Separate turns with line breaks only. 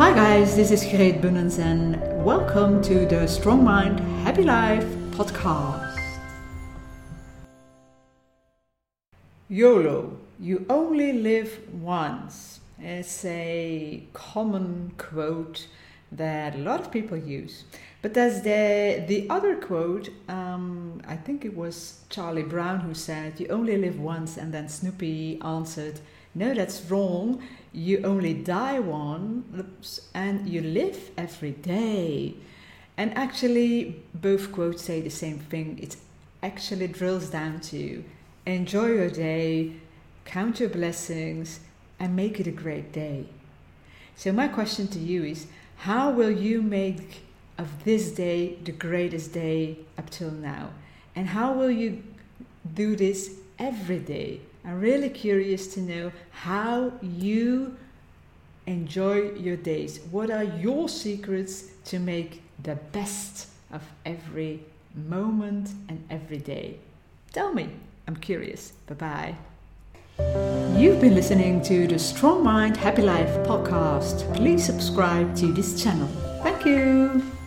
Hi guys, this is Greet Bunnens and welcome to the Strong Mind Happy Life podcast. YOLO, you only live once. It's a common quote that a lot of people use. But there's the other quote, I think it was Charlie Brown who said, you only live once, and then Snoopy answered, no, that's wrong. You only die once and you live every day. And actually, both quotes say the same thing. It actually drills down to enjoy your day, count your blessings, and make it a great day. So my question to you is, how will you make of this day the greatest day up till now? And how will you do this every day? I'm really curious to know how you enjoy your days. What are your secrets to make the best of every moment and every day? Tell me. I'm curious. Bye-bye. You've been listening to the Strong Mind Happy Life podcast. Please subscribe to this channel. Thank you.